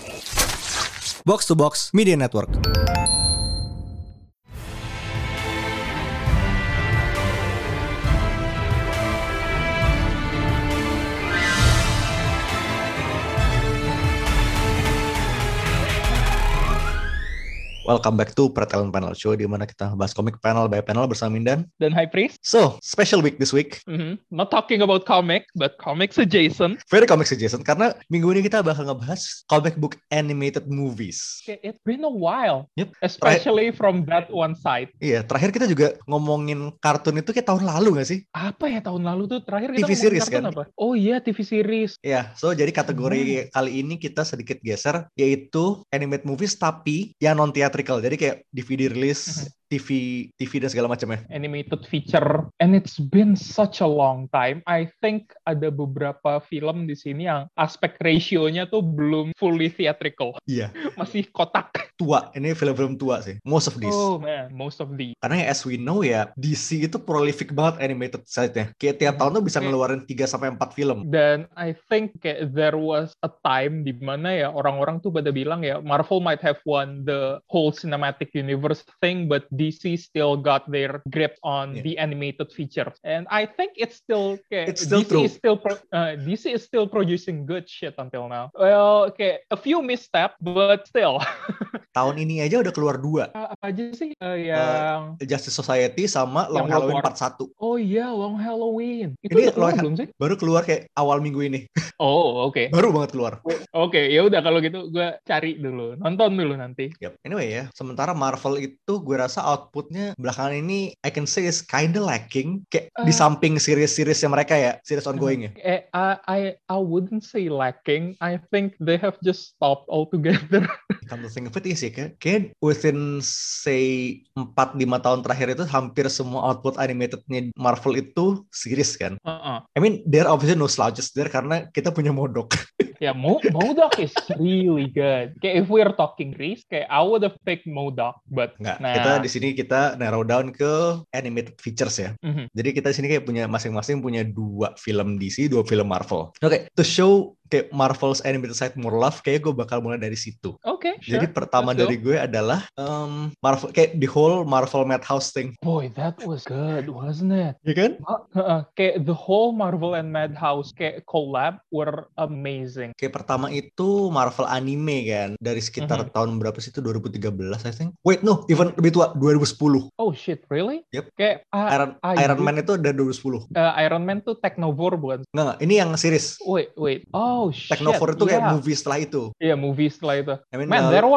Box to Box Media Network. Welcome back to Pretalent Panel Show, di mana kita bahas komik panel by panel bersama Mindan dan High Priest. So, special week this week. Not talking about comic, but comics adjacent. Very comics adjacent, karena minggu ini kita bakal ngebahas comic book animated movies. It's been a while, Yep. Especially from that one side. Iya, terakhir kita juga ngomongin kartun itu kayak tahun lalu gak sih? Apa ya tahun lalu tuh terakhir kita TV ngomongin series kartun kan? apa? Oh iya, TV series. Iya, so jadi kategori kali ini kita sedikit geser, yaitu animated movies tapi yang non-theatrical. Jadi kayak DVD release, TV dan segala macamnya. Animated feature, and it's been such a long time. I think ada beberapa film di sini yang aspek ratio-nya tuh belum fully theatrical. Iya. Masih kotak. Tua, ini film-film tua sih. Most of these. Oh man, most of these. Karena as we know ya, DC itu prolific banget animated side-nya. Kayak tiap tahun tuh bisa ngeluarin 3-4 film. Dan I think kayak there was a time di mana ya orang-orang tuh pada bilang ya Marvel might have won the whole cinematic universe thing, but DC still got their grip on the animated features. And I think it's still kayak it's still DC true. is still DC is still producing good shit until now. Well, kayak a few misstep, but still. Tahun ini aja udah keluar 2. Apa aja sih yang Justice Society sama Long Halloween Part 1. Oh iya, Long Halloween. Itu ini udah keluar belum sih? Baru keluar kayak awal minggu ini. Oh, oke. Baru banget keluar. Oke, ya udah kalau gitu gue cari dulu, nonton dulu nanti. Yep. Anyway ya, sementara Marvel itu gue rasa outputnya belakangan ini I can say is kinda lacking. Kayak di samping series-seriesnya mereka ya, series ongoing ya. I wouldn't say lacking. I think they have just stopped altogether. Come to think of it sih, kayak within say 4-5 tahun terakhir itu hampir semua output animatednya Marvel itu series kan. I mean, there are obviously no slouches there karena kita punya MODOK. Ya, MODOK is really good. Kayak if we're talking risk, kayak I would have picked MODOK, but nggak. Kita di sini kita narrow down ke animated features ya. Jadi kita di sini kayak punya masing-masing punya 2 film DC, 2 film Marvel. Oke, to show kayak Marvel's animated side more love, kayak gue bakal mulai dari situ. Oke, sure. Jadi pertama dari gue adalah Marvel, kayak the whole Marvel Madhouse thing. Boy, that was good, wasn't it? Iya kan? Kayak the whole Marvel and Madhouse kayak collab were amazing. Kayak pertama itu Marvel anime kan, dari sekitar tahun berapa sih itu, 2013 I think. Wait, no, even lebih tua, 2010. Oh shit, really? Yep. Kayak Iron Man itu dari 2010. Iron Man tuh Technovore bukan? Nggak, ini yang series. Wait. Oh shit. Technovore itu kayak movie setelah itu. Iya, movie setelah itu. I mean, Man, there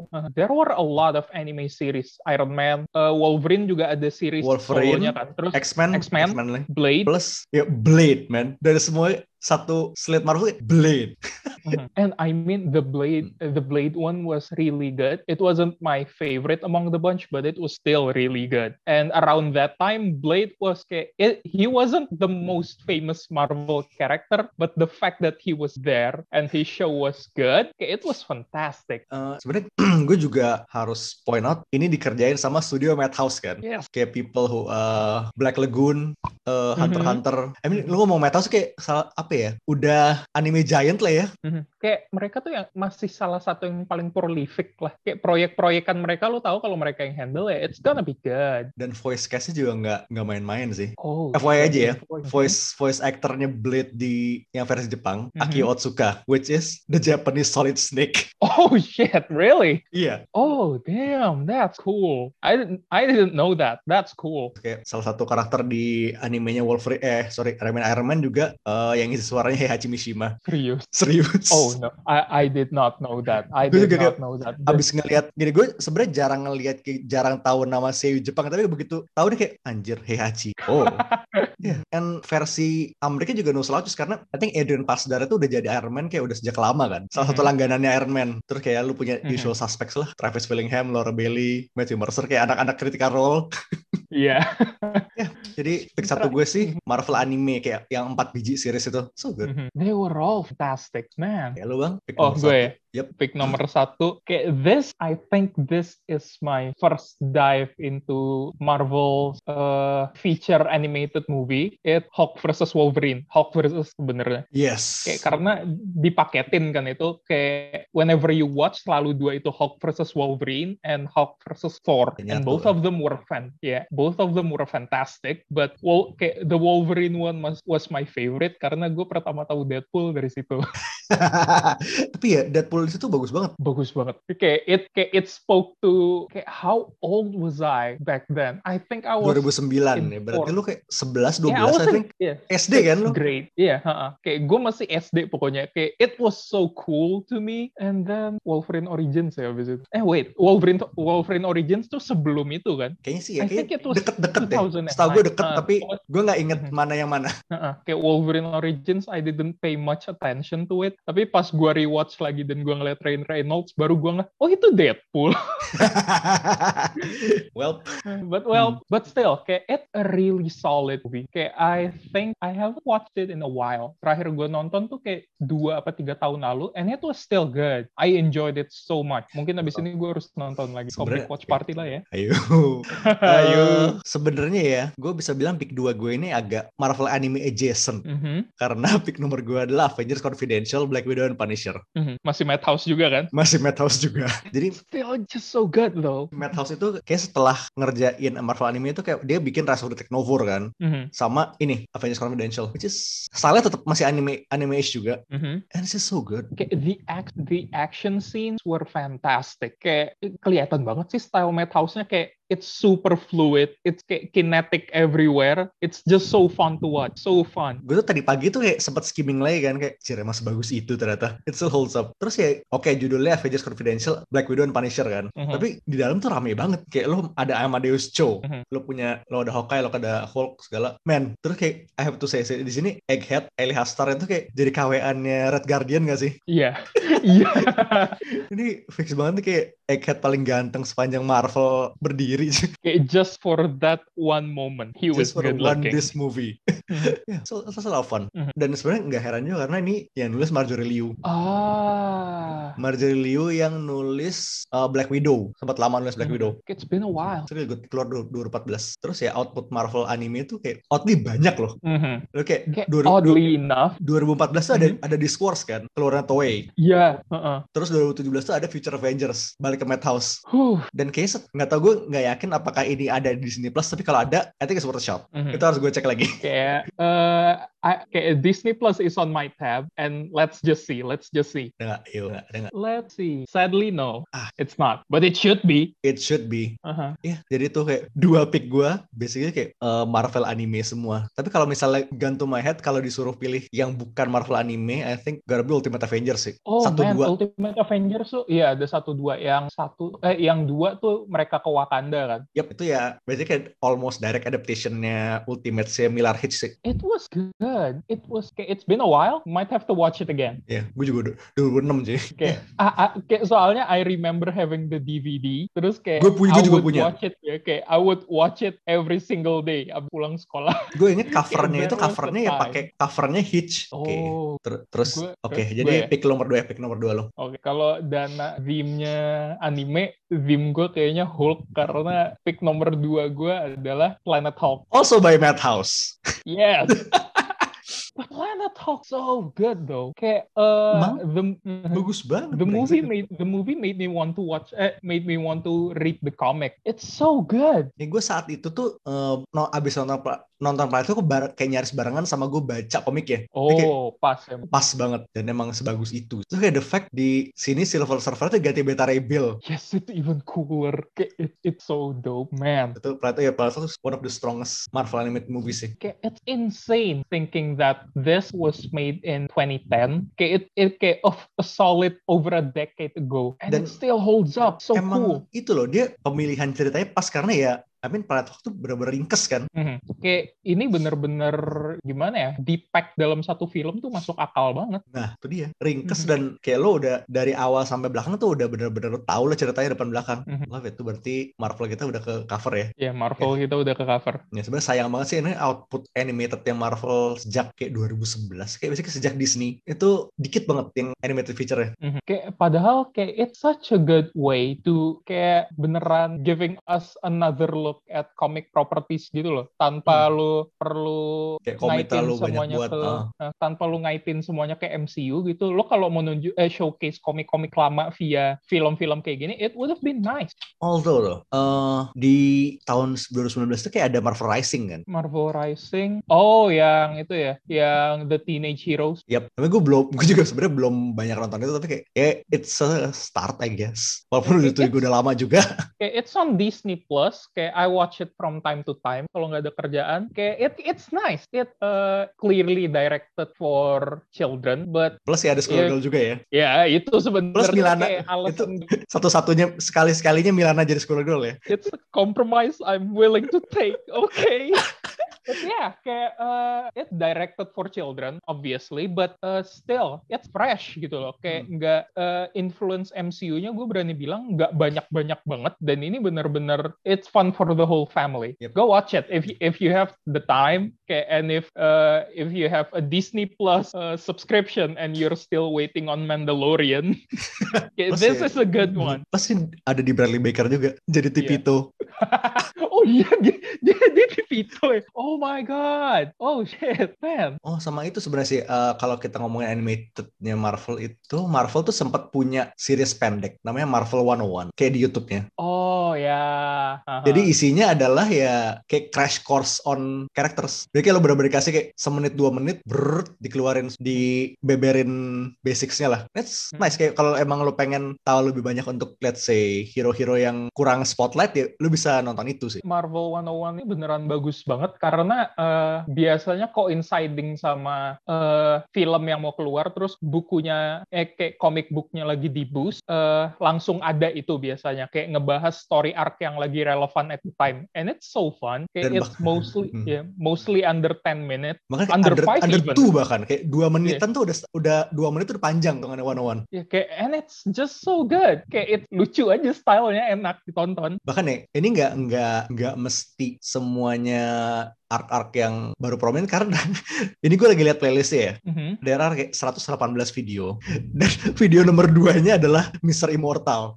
were a lot of anime series. Iron Man, Wolverine juga ada series Wolverine, kan. Terus X-Men, Blade. Plus ya Blade, man. Dari semua satu slate Marvel Blade. And I mean the Blade one was really good. It wasn't my favorite among the bunch, but it was still really good. And around that time, Blade was he wasn't the most famous Marvel character, but the fact that he was there and his show was good, it was fantastic. Sebenarnya gue juga harus point out ini dikerjain sama studio Madhouse kan. Yes. Kayak people who Black Lagoon, Hunter x Hunter. I mean, lu ngomong Madhouse kayak apa ya? Udah anime giant lah ya. Kayak mereka tuh yang masih salah satu yang paling prolific lah. Kayak proyek-proyekan mereka, lo tahu kalau mereka yang handle ya, it's gonna be good. Dan voice cast-nya juga nggak main-main sih. Oh, FYI aja ya, voice actornya Blade di yang versi Jepang, Akio Otsuka, which is the Japanese Solid Snake. Oh shit, really? Iya. Oh damn, that's cool. I didn't know that. That's cool. Kayak salah satu karakter di animenya Iron Man juga yang isi suaranya Heihachi Mishima. Serius. Oh no, I did not know that. Abis ngelihat gini, gue sebenarnya jarang tahu nama seiyuu Jepang, tapi begitu tahu nih kayak anjir Heihachi. Oh. Yeah. And versi Amerika juga no slouches karena I think Adrian Pasdar itu udah jadi Iron Man kayak udah sejak lama kan. Salah satu langganannya Iron Man. Terus kayak lu punya usual suspects lah, Travis Willingham, Laura Bailey, Matthew Mercer, kayak anak-anak critical role. Iya. Jadi pick satu gue sih Marvel anime kayak yang 4 biji series itu. So good. They were all fantastic, man. Ya lu bang, pick Oh, nomor gue 1. ya? Pick nomor 1. Kayak this, I think this is my first dive into Marvel's feature animated movie. It Hulk versus Wolverine. Hulk versus sebenarnya. Yes. Kayak karena dipaketin kan itu. Kayak whenever you watch, selalu dua itu Hulk versus Wolverine and Hulk versus Thor. And both of them were both of them were fantastic. But kayak the Wolverine one was my favorite karena gue pertama tahu Deadpool dari situ. Tapi ya Deadpool di situ bagus banget. Bagus banget. Kayak it spoke to kayak how old was I back then? I think I was 2009 ya. Berarti lu kayak 11 12 I think. SD kan lu? Great. Iya, kayak gue masih SD pokoknya. Kayak it was so cool to me. And then Wolverine Origins ya abis itu. Wait, Wolverine Origins tuh sebelum itu kan? Kayaknya sih ya, kayak deket-deket deh. Setahu gue deket, tapi gue nggak inget mana yang mana. Kayak Wolverine Origins, I didn't pay much attention to it. Tapi pas gue rewatch lagi dan gue ngeliat Ryan Reynolds, baru gue ngeliat, oh itu Deadpool. But still, kayak it a really solid movie. Kayak I think I haven't watched it in a while. Terakhir gue nonton tuh kayak 2 atau 3 tahun lalu, and it was still good. I enjoyed it so much. Mungkin abis ini gue harus nonton lagi. Complete watch party lah ya. Ayo. Sebenarnya ya, gue bisa bilang pick 2 gue ini agak Marvel anime adjacent. Karena pick nomor gue adalah Avengers Confidential, Black Widow, and Punisher. Masih Madhouse juga kan? Masih Madhouse juga. Jadi still just so good though. Madhouse itu kayak setelah ngerjain Marvel anime itu kayak dia bikin Rise of the Technovore kan. Sama ini Avengers Confidential, which is style-nya tetap masih anime-ish juga. And it's just so good. Kayak the action scenes were fantastic. Kayak kelihatan banget sih style Madhouse-nya kayak it's super fluid, it's kayak kinetic everywhere. It's just so fun to watch, so fun. Gue tuh tadi pagi tuh kayak sempat skimming lagi kan kayak cire mas bagus itu ternyata. It still holds up. Terus ya oke, judulnya Avengers Confidential, Black Widow and Punisher kan. Tapi di dalam tuh rame banget. Kayak lo ada Amadeus Cho, lo ada Hawkeye, lo ada Hulk segala. Man, terus kayak I have to say di sini Egghead, Eli Hastar itu kayak jadi KW-annya Red Guardian gak sih? Iya. Iya. Ini fix banget nih kayak Egghead paling ganteng sepanjang Marvel berdiri. Kayak just for that one moment he was good looking. This movie. Yeah, so it's a lot of fun. Dan sebenarnya nggak heran juga karena ini yang nulis Marjorie Liu. Marjorie Liu yang nulis Black Widow. Sempat lama nulis Black Widow. It's been a while. So good, keluar 2014. Terus ya output Marvel anime itu kayak oddly banyak loh. Kayak oddly enough 2014 tuh ada Discourse kan, keluarnya Toei. Iya. Terus 2017 tuh ada Future Avengers balik ke Madhouse. Dan kayaknya nggak tau, gue nggak yakin apakah ini ada di Disney Plus, tapi kalau ada I think it's worth a shot. Itu harus gue cek lagi. Kayak Disney Plus is on my tab and let's just see. Ada nggak? Let's see. Sadly no, it's not, but it should be. Ya, jadi tuh kayak 2 pick gue basically kayak Marvel anime semua. Tapi kalau misalnya gun to my head, kalau disuruh pilih yang bukan Marvel anime, I think gotta be Ultimate Avengers sih. Ultimate Avengers tuh iya ada 1-2. Yang 2 tuh mereka ke Wakanda kan. Yep, itu ya berarti kayak almost direct adaptation-nya Ultimate-nya Millar Hitch sih. It was good. It's been a while. Might have to watch it again. Ya, gue juga 2006 sih. Kayak soalnya I remember having the DVD. Terus kayak gue juga punya. Watch it ya. Kayak I would watch it every single day abis pulang sekolah. Gue inget covernya itu ya pakai covernya Hitch. Terus jadi pick nomor 2 lo. Kalau dana theme-nya anime, theme gue kayaknya Hulk karena pick nomor 2 gue adalah Planet Hulk. Also by Madhouse. Yes. But Planet Hulk so good though. Kayak bagus banget. The movie made me want to watch. Made me want to read the comic. It's so good. Ya gue saat itu tuh abis nonton Planet Hulk kayak nyaris barengan sama gue baca komik ya. Pas banget dan emang sebagus itu. Terus kayak the fact di sini Silver Surfer tuh ganti Beta Ray Bill. Yes, it's even cooler. It's so dope, man. Itu Planet Hulk is one of the strongest Marvel animated movies sih. Kayak it's insane thinking that this was made in 2010. Kayak it of a solid over a decade ago, and it still holds up. So emang cool. Itu loh, dia pemilihan ceritanya pas karena ya I mean Planet Hulk tuh bener-bener ringkes kan. Kayak ini bener-bener gimana ya, di-pack dalam satu film tuh masuk akal banget. Nah itu dia, ringkes dan kayak lo udah dari awal sampai belakang tuh udah bener-bener tahu lah ceritanya depan belakang. Love it, tuh berarti Marvel kita udah ke cover ya. Ya, Marvel kita udah ke cover. Ya sebenarnya sayang banget sih ini output animated yang Marvel sejak kayak 2011, kayak basically sejak Disney itu dikit banget yang animated feature-nya. Kayak padahal kayak it's such a good way to kayak beneran giving us another look at comic properties gitu loh, tanpa lu perlu kayak komik ngaitin terlalu banyak semuanya buat tanpa lu ngaitin semuanya ke MCU gitu. Lo kalau mau showcase komik-komik lama via film-film kayak gini, it would have been nice. Although loh, di tahun 2019 itu kayak ada Marvel Rising kan? Marvel Rising, oh yang itu ya, yang The Teenage Heroes. Yap, tapi gue juga sebenarnya belum banyak nonton itu, tapi kayak it's a start I guess. Walaupun itu gue udah lama juga. Kayak it's on Disney Plus, kayak I watch it from time to time kalau nggak ada kerjaan. Kayak it's nice, it clearly directed for children, but plus ya ada Squirrel Girl juga ya. Ya itu sebenarnya plus Milana kayak alasan itu satu-satunya sekalinya Milana jadi Squirrel Girl ya. It's a compromise I'm willing to take. Okay. But yeah, kayak it's directed for children, obviously, but still it's fresh gitu loh. Kayak nggak influence MCU-nya, gue berani bilang nggak banyak-banyak banget. Dan ini bener-bener it's fun for the whole family. Yep. Go watch it if you have the time. Kayak and if you have a Disney Plus subscription and you're still waiting on Mandalorian, this is a good one. Pasti ada di Bradley Baker juga jadi Tipito. Oh iya, dia Tipito ya. Oh my god. Oh shit, man. Oh sama itu sebenarnya sih kalau kita ngomongin animatednya Marvel itu, Marvel tuh sempat punya series pendek namanya Marvel 101 kayak di YouTube-nya. Oh ya. Jadi isinya adalah ya kayak crash course on characters. Jadi kayak lo bener-bener dikasih kayak semenit 2 menit dikeluarin, dibeberin basics-nya lah. That's nice. Kayak kalau emang lo pengen tahu lebih banyak untuk let's say hero-hero yang kurang spotlight ya lo bisa nonton itu sih. Marvel 101 ini beneran bagus banget karena biasanya coinciding sama film yang mau keluar, terus bukunya kayak comic booknya lagi di boost, langsung ada itu biasanya kayak ngebahas story arc yang lagi relevan at the time, and it's so fun. Kayak it's mostly under 10 minutes, makanya under 5 under even. 2 bahkan kayak 2 menitan tuh udah 2 menit tuh udah panjang tuh kan 101. Ya kayak and it's just so good. Kayak lucu aja, stylenya enak ditonton. Bahkan ya ini nggak mesti semuanya arc-arc yang baru prominent, karena ini gue lagi lihat playlistnya ya. There are kayak 118 video dan video nomor 2-nya adalah Mr. Immortal.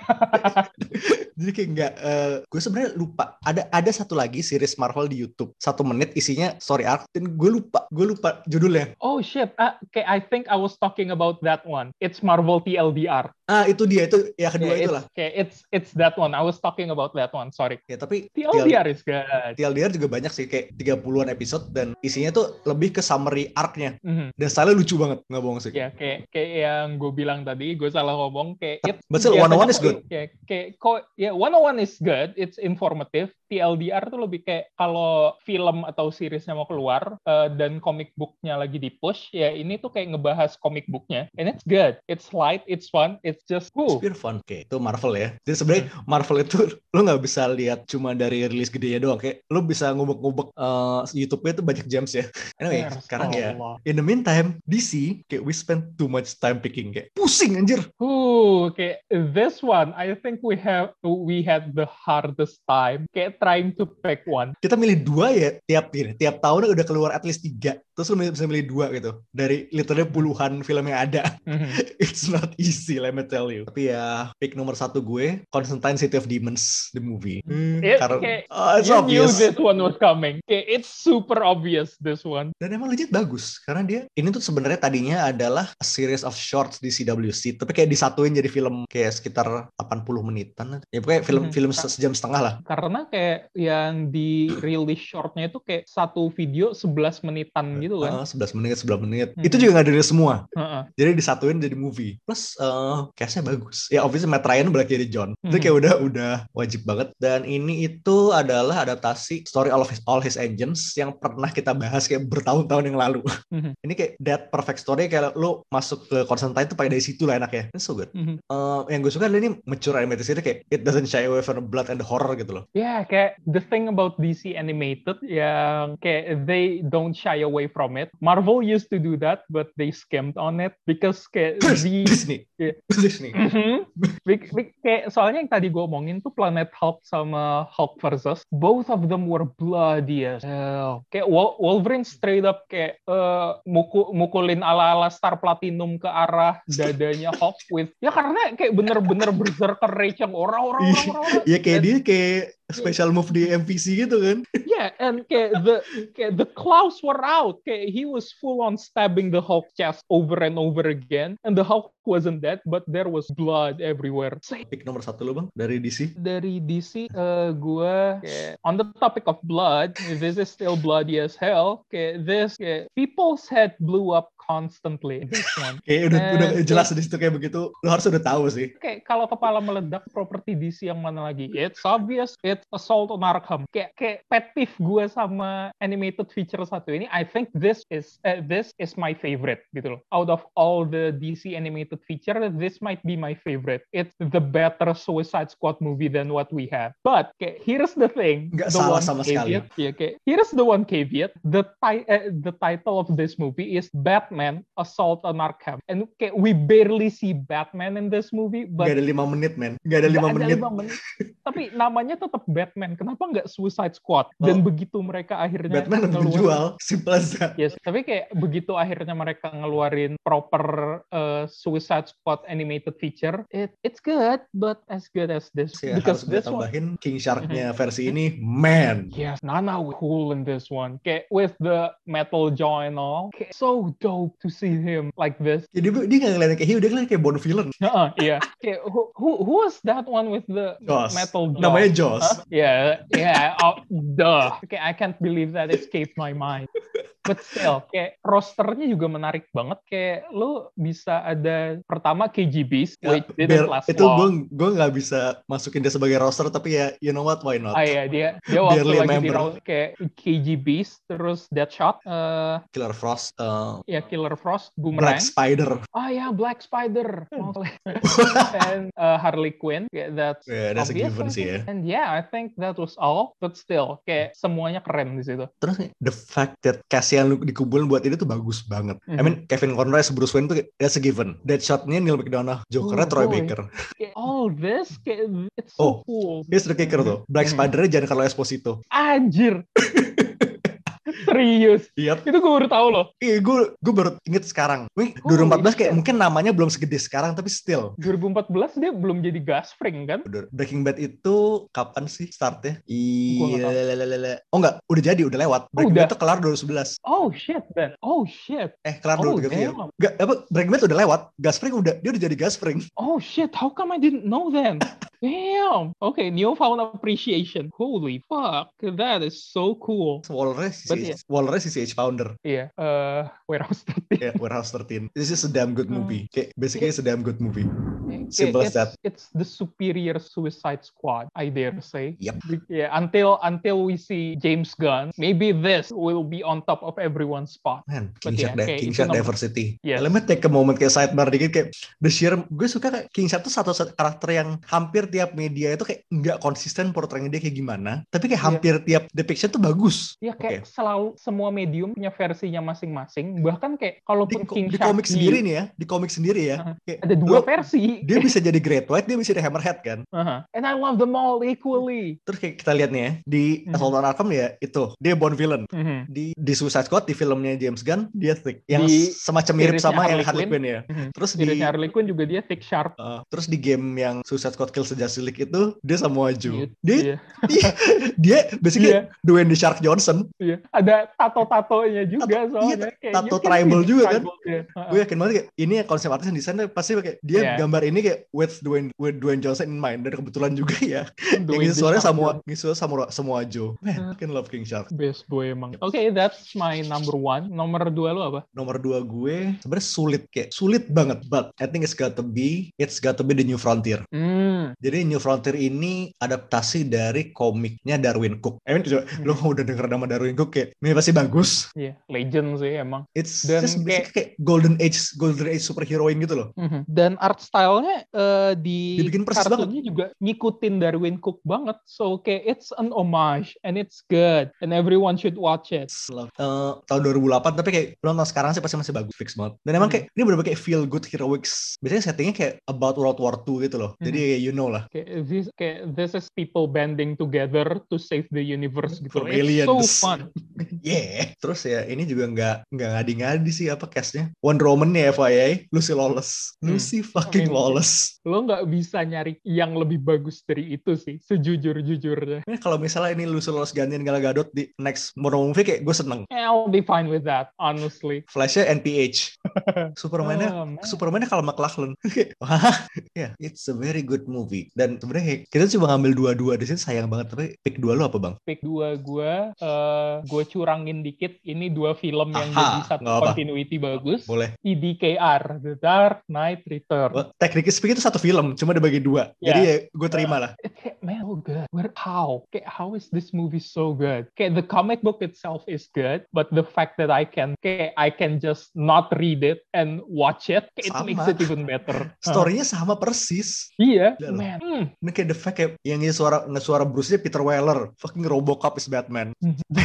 Jadi kayak gue sebenarnya lupa ada satu lagi series Marvel di YouTube 1 menit isinya story arc dan gue lupa judulnya. Oh shit, okay, I think I was talking about that one. It's Marvel TLDR. Itu dia, itu ya kedua itulah. Okay, it's that one. I was talking about that one. Sorry. Ya tapi TLDR is good. TLDR juga banyak sih kayak 30-an episode dan isinya tuh lebih ke summary arc-nya. Dan style lucu banget, nggak bohong sih. Ya kayak yang gue bilang tadi, gue salah ngomong kayak but still 101 is good. Kayak 101 is good, it's informative. TLDR tuh lebih kayak kalau film atau seriesnya mau keluar dan comic booknya lagi di push, ya ini tuh kayak ngebahas comic booknya, and it's good, it's light, it's fun, it's just It's pure fun. Oke, itu Marvel ya. Jadi sebenarnya Marvel itu lo nggak bisa lihat cuma dari rilis gedenya doang, kayak lo bisa ngubek-ngubek YouTube-nya tuh banyak gems ya. Anyway, sekarang ya in the meantime DC kayak we spend too much time picking, kayak pusing anjir. Kayak this one I think we had the hardest time kayak trying to pick one. Kita milih 2 ya tiap tahun udah keluar at least 3. Terus lu bisa milih 2 gitu dari literally puluhan film yang ada. It's not easy, let me tell you. Tapi ya pick nomor 1 gue Constantine City of Demons the movie. Karena it's obvious. Knew this one was coming. It's super obvious this one. Dan emang legit bagus karena dia ini tuh sebenarnya tadinya adalah a series of shorts di CWC, tapi kayak disatuin jadi film kayak sekitar 80 menitan. Ya pokoknya film sejam setengah lah. Karena kayak yang di release shortnya itu kayak satu video 11 menitan gitu kan. 11 menit. Itu juga nggak dari semua. Jadi disatuin jadi movie. Plus cast-nya bagus. Ya obviously Matt Ryan balik jadi John. Itu kayak udah wajib banget. Dan ini itu adalah adaptasi Story All His Agents yang pernah kita bahas kayak bertahun-tahun yang lalu. Ini kayak that perfect story, kayak lo masuk ke Constantine tuh pakai dari situ lah enaknya. It's so good. Yang gue suka adalah ini mature animated series kayak it doesn't shy away from the blood and the horror gitu loh. Yeah, kayak the thing about DC animated yang kayak they don't shy away from it. Marvel used to do that, but they skimped on it because kayak Disney. Yeah. Disney. Kayak soalnya yang tadi gue omongin tuh Planet Hulk sama Hulk versus both of them were bloody as hell. Kayak Wolverine straight up kayak mukulin ala-ala Star Platinum ke arah dadanya Hulk with ya karena kayak bener-bener berserker rage yang orang. Iya kayak dia kayak special move di MVC gitu kan. Yeah, and kayak the claws were out. Kayak he was full on stabbing the Hulk chest over and over again, and the Hulk wasn't dead, but there was blood everywhere. Pick nomor 1 lo bang dari DC. Dari DC, gue on the topic of blood, this is still bloody as hell. This people's head blew up constantly. This one. Udah jelas di situ kayak begitu. Lo harus udah tahu sih. Kayak kalau kepala meledak, properti DC yang mana lagi? It's obvious. It's Assault on Arkham. Kayak pet peeve gue sama animated feature satu ini. I think this is my favorite gitu loh. Out of all the DC animated feature, this might be my favorite. It's the better Suicide Squad movie than what we have. But here's the thing. Nggak salah sama sekali. Here's the one caveat. The title of this movie is Batman Assault on Arkham. And we barely see Batman in this movie. But Gak ada 5 menit, men. Gak ada 5 menit. Tapi namanya tetap Batman. Kenapa nggak Suicide Squad? Dan begitu mereka akhirnya Batman lebih menjual. Simple as that. Yes, tapi kayak begitu akhirnya mereka ngeluarin proper Suicide Squad animated feature, it's good, but as good as this. Ya, because harus this one, tambahin King Shark-nya versi ini, man. yes, Nana was cool in this one. Kayak with the metal jaw and all, kayak so dope to see him like this. Ya, dia nggak ngeliatin kayak hero, dia ngeliatin kayak Bond villain. Iya. Kayak who was that one with the metal jaw? Namanya Joss. Yeah. Duh. Okay, I can't believe that escaped my mind. But still, kayak rosternya juga menarik banget. Kayak lo bisa ada pertama KGBs, which didn't last itu long. Gue nggak bisa masukin dia sebagai roster, tapi ya you know what, why not? Iya, dia waktu lagi di kayak KGBs, terus Deadshot, Killer Frost, Killer Frost, Boomerang, Black Spider. Black Spider, and Harley Quinn. That's a given sih ya. And yeah, I think that was all. But still, kayak semuanya keren di situ. Terus the fact that cast yang dikumpulin buat ini tuh bagus banget. I mean, Kevin Conroy as Bruce Wayne tuh that's a given. Deadshot-nya Neil McDonough, Joker-nya Troy Baker. All this, it's so cool. Here's the kicker tuh. Black Spider-nya Giancarlo Esposito. Anjir. Serius? Yep. Itu gue baru tahu loh. Iya, gue baru inget sekarang. 2014 kayak mungkin namanya belum segede sekarang, tapi still. 2014 dia belum jadi Gasfring kan? Breaking Bad itu kapan sih startnya? Oh enggak, udah jadi, udah lewat. Breaking Bad itu kelar 2011. Oh shit, Ben. Oh shit. Kelar 2013. Enggak, Breaking Bad udah lewat. Gasfring dia udah jadi Gasfring. Oh shit, how come I didn't know then? Damn. Okay, newfound appreciation. Holy fuck, that is so cool. Walrus is CH founder. Iya, Warehouse 13. Yeah, Warehouse 13. This is a damn good movie. Basically, it's a damn good movie. Simple as that. It's the superior Suicide Squad, I dare say. Yep. Yeah, until we see James Gunn, maybe this will be on top of everyone's spot. Man, King Shark diversity. Yes. Let me take a moment kayak sidebar dikit kayak the sheer. Gue suka kayak King Shark tuh satu karakter yang hampir tiap media itu kayak nggak konsisten portraying dia kayak gimana, tapi kayak hampir tiap depiction tuh bagus. Iya, kayak selalu semua medium punya versinya masing-masing. Bahkan kayak kalaupun King Shark di komik sendiri nih ya, di komik sendiri ya. Kayak ada dua versi. Dia bisa jadi Great White, dia bisa jadi Hammerhead kan. And I love them all equally. Terus kayak kita lihat nih ya, di Assault on Arkham ya itu, dia Bond villain. Di Suicide Squad, di filmnya James Gunn, dia Thick. Yang semacam mirip sama yang Harley Quinn ya. Terus di Harley Quinn juga dia Thick Sharp. Terus di game yang Suicide Squad Kills the Justice League itu, dia sama Joe. Dia basically Dwayne The Shark Johnson. Iya. Ada tato-tatonya juga soalnya. Tato tribal juga kan. Gue yakin banget kayak ini ya konsep artis yang desain pasti pakai dia gambar ini kayak with Dwayne Johnson in mind, dan kebetulan juga ya yang ngisi suaranya semua Joe. Man, I can love King Shark. Best boy emang. Okay, that's my number 1. Nomor 2 lo apa? Nomor 2 gue sebenarnya sulit banget, but I think it's got to be the New Frontier. Jadi New Frontier ini adaptasi dari komiknya Darwin Cook. Lo udah denger nama Darwin Cook kayak ini pasti bagus. Iya, legend sih emang. It's Dan just basically kayak Golden Age superheroine gitu loh. Dan art style-nya di Dibikin persis kartunnya juga ngikutin Darwin Cook banget. So kayak it's an homage and it's good and everyone should watch it. Tahun 2008 tapi kayak lo nonton sekarang sih pasti masih bagus, fix banget. Dan emang kayak ini bener-bener kayak feel good heroics. Biasanya settingnya kayak about World War II gitu loh. Jadi you know lah. This is people banding together to save the universe gitu. From It's aliens. so fun. Yeah. Terus ya ini juga nggak ngadi-ngadi sih apa castnya. Wonder Woman nih FYI, Lucy Lawless. Lucy fucking Lawless. Lo nggak bisa nyari yang lebih bagus dari itu sih, sejujur-jujurnya. Ini kalau misalnya ini Lucy Lawless gantiin Gal Gadot di next Wonder Woman movie kayak gue seneng. I'll be fine with that, honestly. Flashnya NPH. Superman-nya kalau McLachlan. Wah, yeah, it's a very good movie. Dan sebenarnya kita coba ngambil dua-dua di sini sayang banget. Tapi pick 2 lo apa bang? Pick 2 gue curangin dikit. Ini 2 film yang jadi satu continuity bagus. Boleh. TDKR, The Dark Knight Returns. Technically speaking itu satu film, cuma dibagi 2. Jadi ya gue terima lah. Man, so good. How is this movie so good? The comic book itself is good, but the fact that I can just not read it and watch it, it makes it even better. Story-nya sama persis. Iya, man. Ini kayak the fact kayak yang ini suara Bruce-nya Peter Weller, fucking Robocop is Batman.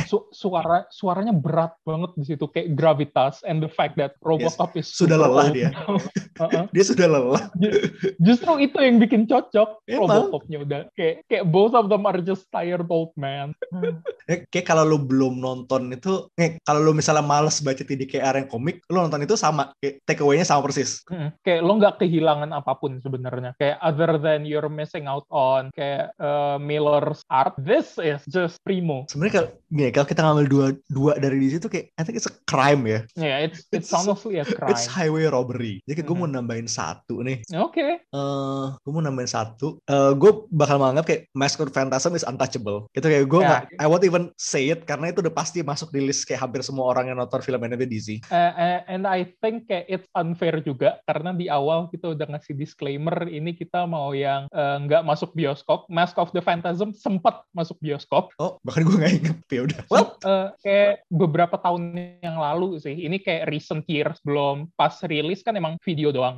Suaranya berat banget di situ, kayak gravitas, and the fact that Robocop is sudah lelah dia. Dia sudah lelah. Justru itu yang bikin cocok. Robocopnya udah kayak both of them are just tired old man. Kayak kalau lu belum nonton itu, kalau lu misalnya males baca TDKR yang komik, lu nonton itu sama, kayak take away-nya sama persis. Kayak lo nggak kehilangan apapun sebenarnya. Kayak other than you're missing out on kayak Miller's art, this is just primo. Sebenarnya kalau kita ngambil dua dari di situ kayak I think it's a crime ya. Yeah, it's honestly a crime. It's highway robbery. Jadi gue mau nambahin 1 nih. Oke. Gue mau nambahin 1. Gue bakal menganggap kayak Mask of Phantasm is untouchable. Itu kayak gue I won't even say it karena itu udah pasti masuk di list kayak hampir semua orang yang nonton film animated DC. And I think kayak it's unfair juga karena di awal kita udah ngasih disclaimer ini kita mau yang nggak masuk bioskop. Mask of the Phantasm sempat masuk bioskop. Oh, bahkan gue nggak inget. Ya udah. Well, kayak beberapa tahun yang lalu sih. Ini kayak recent years, belum pas rilis kan emang video doang.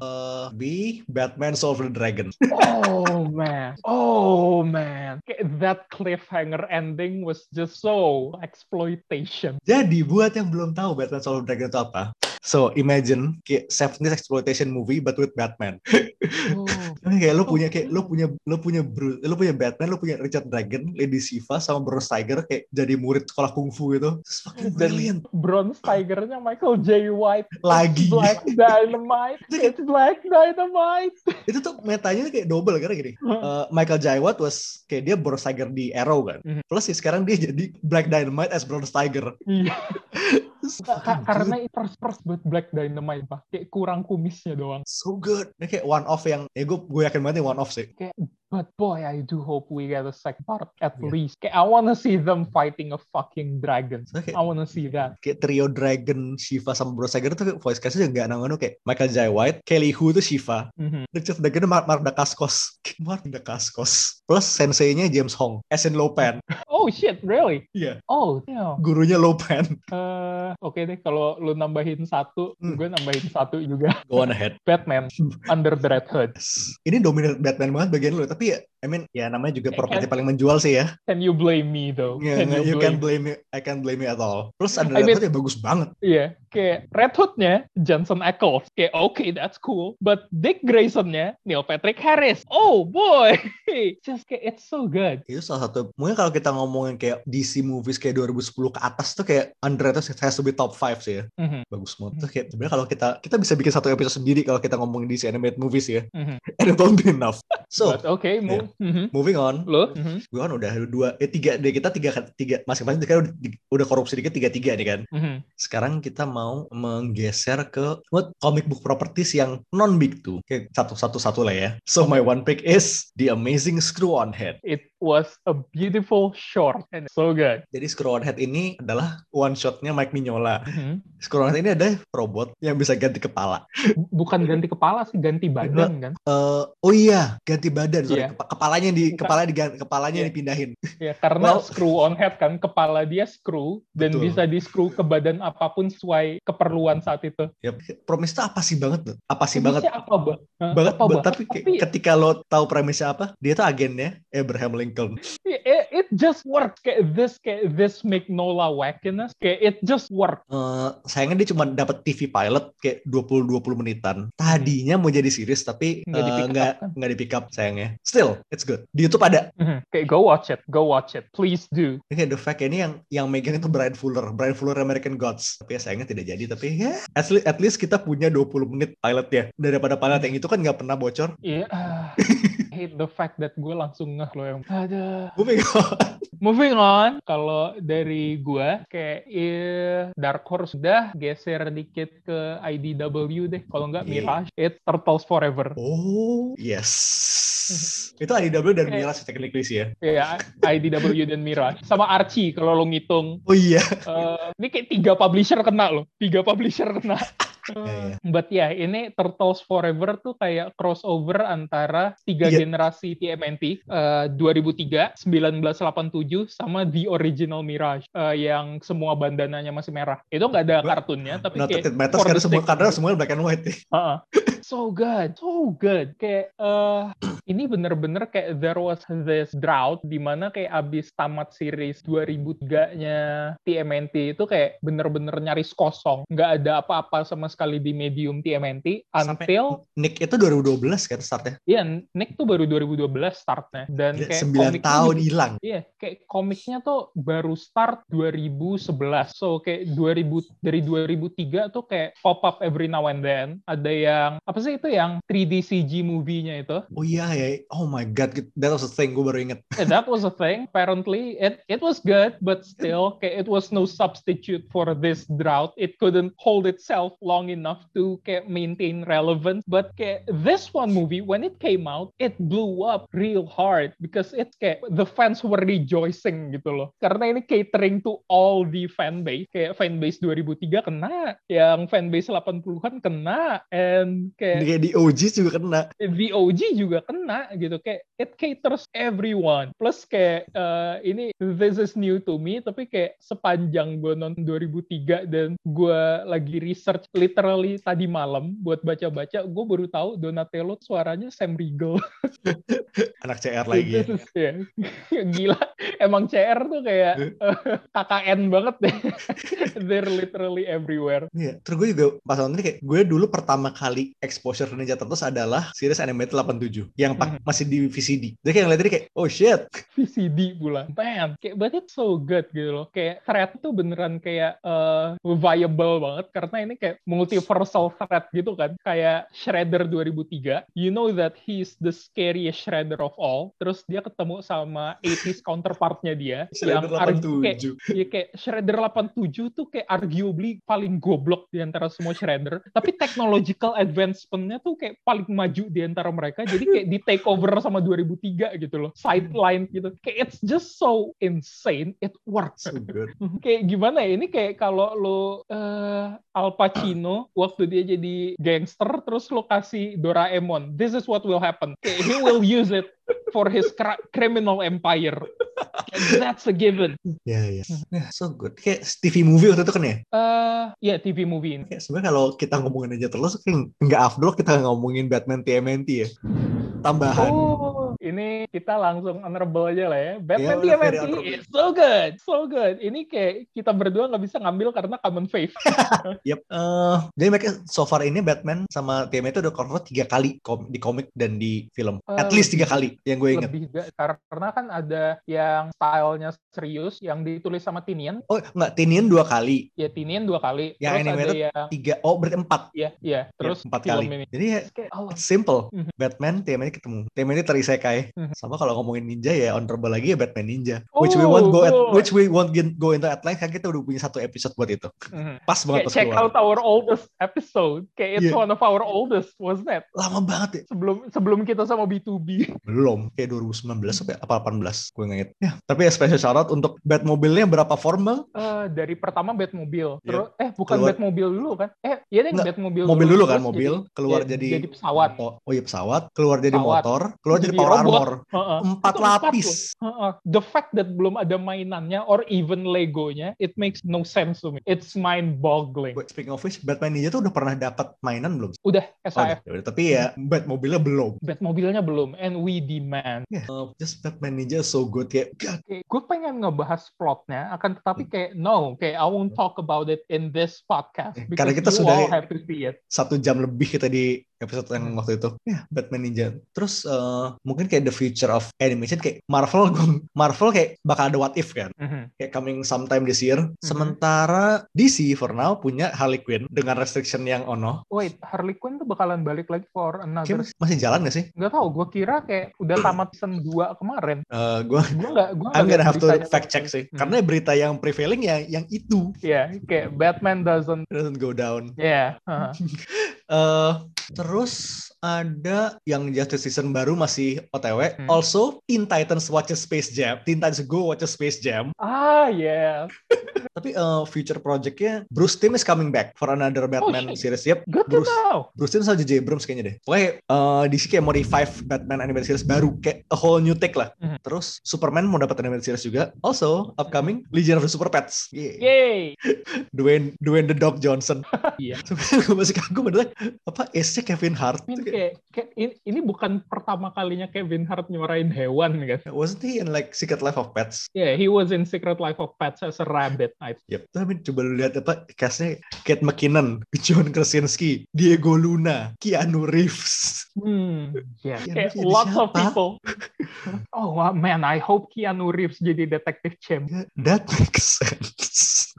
Batman Soul of the Dragon. Oh man. Kayak that cliffhanger ending was just so exploitation. Jadi buat yang belum tahu Batman Soul of the Dragon itu apa? So imagine kayak 70s exploitation movie but with Batman. Kayak lo punya Batman, lo punya Richard Dragon, Lady Shiva sama Bronze Tiger kayak jadi murid sekolah kungfu gitu. It's fucking brilliant. Bronze Tiger-nya Michael J. White lagi. Black Dynamite. It's Black Dynamite. Itu tuh metanya kayak double karena gini. Michael J. White was kayak dia Bronze Tiger di Arrow kan. Plus sih sekarang dia jadi Black Dynamite as Bronze Tiger. Iya. Karena itu first buat Black Dynamite pak, kayak kurang kumisnya doang. So good. Ini kayak one off yang gue yakin banget one off sih. Kayak, but boy, I do hope we get a second part at least. Kayak I wanna see them fighting a fucking dragon. I wanna see that. Kayak trio dragon Shiva sama Bronze Tiger tuh voice cast-nya juga nggak kayak Michael J. White, Kelly Hu tuh Shiva, Richard Dragon Mark Dacascos. Plus sensei-nya James Hong, as in Lopan. Oh shit, really? Iya. Yeah. Oh, damn. Gurunya Lopan. Oke deh, kalau lu nambahin 1, gue nambahin 1 juga. Go on ahead. Batman Under the Red Hood. Ini dominant Batman banget bagian lu, tapi ya, I mean, ya namanya juga properti paling menjual sih ya. Can you blame me though? Yeah, you can't blame me. I can't blame you at all. Plus Under the Red Hood ya bagus banget. Iya, kayak Red Hood-nya Jensen Ackles, kayak okay, that's cool. But Dick Grayson-nya Neil Patrick Harris. Oh boy, just kayak it's so good. Itu salah satu. Mungkin kalau kita ngomongin kayak DC movies kayak 2010 ke atas tuh kayak Under the Red Hood has to be top 5 sih ya. Bagus banget. Tuh kayak sebenarnya kalau kita bisa bikin satu episode sendiri kalau kita ngomongin DC animated movies ya. And it won't be enough. So, but okay, Moving on. Lo? Gue kan udah tiga masing-masing kan udah korupsi dikit 3-3 nih kan. Sekarang kita mau menggeser ke comic book properties yang non big two. Kayak satu lah ya. So my one pick is The Amazing Screw-On-Head. It was a beautiful short and so good. Jadi Screw-On-Head ini adalah one shotnya Mike Mignola. Screw-On-Head ini ada robot yang bisa ganti kepala. Bukan ganti kepala sih, ganti badan kan? Oh iya, ganti badan. Sorry, kepalanya dipindahin. Ya, karena Screw-On-Head kan, kepala dia screw dan bisa di-screw ke badan apapun sesuai keperluan saat itu. Ya, premisnya apa sih banget? Tapi ketika lo tahu premisnya apa, dia tuh agennya Abraham Lincoln. It just worked. Kayak this Mignola wackiness, kayak it just worked. Sayangnya dia cuma dapat TV pilot kayak 20 menitan. Tadinya mau jadi series tapi nggak di pick up sayangnya. Still, it's good. Di YouTube ada. Kayak go watch it, please do. Kayak the fact ini yang megang itu Brian Fuller American Gods. Tapi sayangnya tidak jadi. Tapi ya, at least kita punya 20 menit pilot ya. Daripada pilot yang itu kan nggak pernah bocor. Iya. Hate the fact that gue langsung ngeh loh yang ada. Moving on. Kalau dari gue kayak Dark Horse udah geser dikit ke IDW deh. Kalau nggak Mirage, it's Turtles Forever. Oh yes. Itu IDW dan Mirage technically sih ya. Iya, IDW dan Mirage. Sama Archie kalau lo ngitung. Oh iya. Ini kayak 3 publisher kena loh. 3 publisher kena. But ini Turtles Forever tuh kayak crossover antara 3 generasi TMNT, 2003, 1987 sama The Original Mirage yang semua bandananya masih merah. Itu nggak ada kartunnya, tapi kayak karena semua black and white. So good. Kayak ini bener-bener kayak there was this drought di mana kayak abis tamat series 2003-nya TMNT itu kayak bener-bener nyaris kosong. Nggak ada apa-apa sama sekali di medium TMNT until Nick itu 2012 kan startnya? Iya, Nick tuh baru 2012 startnya dan kayak 9 tahun hilang. Iya, kayak komiknya tuh baru start 2011. So kayak dari 2003 tuh kayak pop up every now and then. Ada yang apa sih itu yang 3D CG movie-nya itu? Oh iya ya. Oh my god, that was a thing, gue baru inget. That was a thing. Apparently it was good, but still kayak it was no substitute for this drought. It couldn't hold itself long enough to kayak maintain relevance. But kayak this one movie, when it came out, it blew up real hard because it's kayak the fans were rejoicing gitu loh. Karena ini catering to all the fan base. Kayak fan base 2003 kena, yang fan base 80-an kena, and kayak di OG juga kena. The OG juga kena gitu. Kayak it caters everyone. Plus kayak ini this is new to me, tapi kayak sepanjang gue nonton 2003 dan gue lagi research literally tadi malam buat baca-baca, gue baru tahu Donatello suaranya Sam Riegel. Anak CR lagi. Gila. Emang CR tuh kayak KKN banget deh. They're literally everywhere. Iya. Terus gue juga pas nonton ini kayak gue dulu pertama kali exposure ke Ninja Turtles adalah series animated 87 yang masih di VCD. Jadi kayak ngeliat ini kayak oh shit. VCD pula. Man, kayak but it's so good gitu loh. Kayak thread tuh beneran kayak viable banget karena ini kayak multiversal thread gitu kan. Kayak Shredder 2003. You know that he's the scariest Shredder of all. Terus dia ketemu sama 80s counterpartnya dia Shredder yang kayak Shredder 87 tuh kayak arguably paling goblok di antara semua Shredder. Tapi technological advancement-nya tuh kayak paling maju di antara mereka. Jadi kayak di take over sama 2003 gitu loh. Sideline gitu. Kayak it's just so insane. It works. So good. Kayak gimana ya? Ini kayak kalau lo Al Pacino waktu dia jadi gangster terus lo kasih Doraemon. This is what will happen. Kayak he will use it for his criminal empire. That's a given. Ya. So good. Kayak TV movie waktu itu kan ya? Ya TV movie ini. Sebenarnya kalau kita ngomongin aja terus kayak nggak afdol kita ngomongin Batman TMNT ya. Tambahan. Ini kita langsung honorable aja lah ya. Batman TMNT is so good. Ini kayak kita berdua nggak bisa ngambil karena common faith. Yep. Jadi mereka so far ini Batman sama TMNT udah cover 3 kali di komik dan di film. At least 3 kali yang gue inget. Karena kan ada yang stylenya serius yang ditulis sama Tinian. Oh enggak, Tinian 2 kali. Ya Tinian 2 kali. Yang terus animated ada 3. Oh berarti 4. Iya. Terus 4 kali. ini. Jadi ya it's simple. Batman TMNT ketemu. TMNT terisekai. samurai. Sama kalau ngomongin ninja ya honorable lagi ya Batman Ninja. Which we won't go into at length, kan kita udah punya satu episode buat itu. Pas banget pas check keluar. out our oldest episode. Kayak it's one of our oldest, wasn't it? Lama banget ya. Sebelum kita sama B2B. Belum, kayak 2019 apa 18, gue inget. Ya, tapi ya special shout out untuk Batmobile-nya berapa formal? Dari pertama Batmobile. Terus bukan keluar. Batmobile dulu kan? Iya deh, Batmobile dulu kan, mobil keluar jadi pesawat. Oh iya pesawat, keluar jadi motor, keluar jadi power armor. 4 lapis. The fact that belum ada mainannya or even Legonya, it makes no sense to me. It's mind-boggling. Speaking of which, Batman Ninja tuh udah pernah dapat mainan belum? Udah, SAF. Tapi ya Batmobile-nya belum. Batmobile-nya belum, and we demand. Just Batman Ninja so good kayak. Gue pengen ngebahas plotnya, akan tetapi kayak I won't talk about it in this podcast. Karena kita sudah have to see it. 1 jam lebih kita di episode yang waktu itu. Batman Ninja. Terus mungkin kayak the future of animation kayak Marvel kayak bakal ada what if kan. Kayak coming sometime this year. Sementara DC for now punya Harley Quinn dengan restriction yang ono. Wait, Harley Quinn tuh bakalan balik lagi for another. Masih jalan gak sih? Gak tau, gue kira kayak udah tamat season 2 kemarin. I'm gonna have to fact check sih. Karena berita yang prevailing ya yang itu. Kayak Batman doesn't go down. Terus ada yang Justice Season baru masih OTW. Also, Teen Titans watches Space Jam. Teen Titans Go watches Space Jam. Tapi future project-nya Bruce Timm is coming back for another Batman series. Good to know. Bruce Timm sama J.J. Abrams kayaknya deh. Pokoknya DC kayak mau revive Batman animated series baru. Kayak a whole new take lah. Terus Superman mau dapat animated series juga. Also, upcoming Legion of the Super Pets. Yay! Dwayne The Dog Johnson. Gue masih kagum adalah apa Ace-nya Kevin Hart. Ini bukan pertama kalinya Kevin Hart nyuarain hewan kan? Wasn't he in like Secret Life of Pets? Yeah, he was in Secret Life of Pets as a rabbit. Tapi coba lu lihat apa cast-nya Kate McKinnon, John Krasinski, Diego Luna, Keanu Reeves. Lots of people. Oh man, I hope Keanu Reeves jadi Detective Chimp. That makes sense.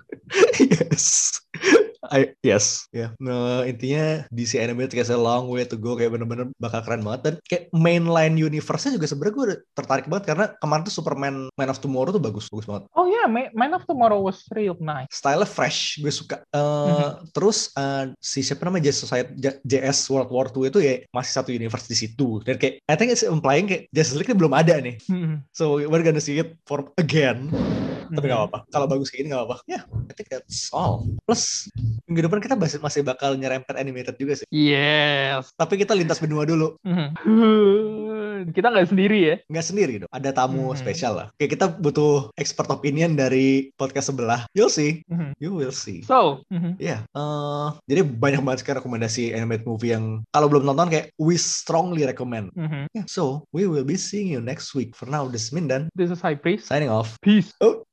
Yes. Nah, intinya DC Animated kayak a long way to go, kayak bener-bener bakal keren banget. Dan kayak mainline universe-nya juga sebenarnya gue tertarik banget karena kemarin tuh Superman Man of Tomorrow tuh bagus banget. Oh yeah, Man of Tomorrow was real nice. Style fresh, gue suka. Terus si siapa namanya JS World War II itu ya masih satu universe di situ. Dan kayak I think it's implying kayak Justice League belum ada nih. So we're gonna see it for again. Tapi gak apa-apa. Kalau bagus kayak gini gak apa-apa. I think that's all. Plus minggu depan kita masih bakal nyerempet animated juga sih. Yes. Tapi kita lintas benua dulu. Kita nggak sendiri ya? Nggak sendiri dong. Ada tamu spesial lah. Kayak kita butuh expert opinion dari podcast sebelah. You'll see. You will see. So. Jadi banyak banget sekarang rekomendasi animated movie yang kalau belum nonton kayak we strongly recommend. So we will be seeing you next week. For now, this is Mindan. This is High Priest. Signing off. Peace.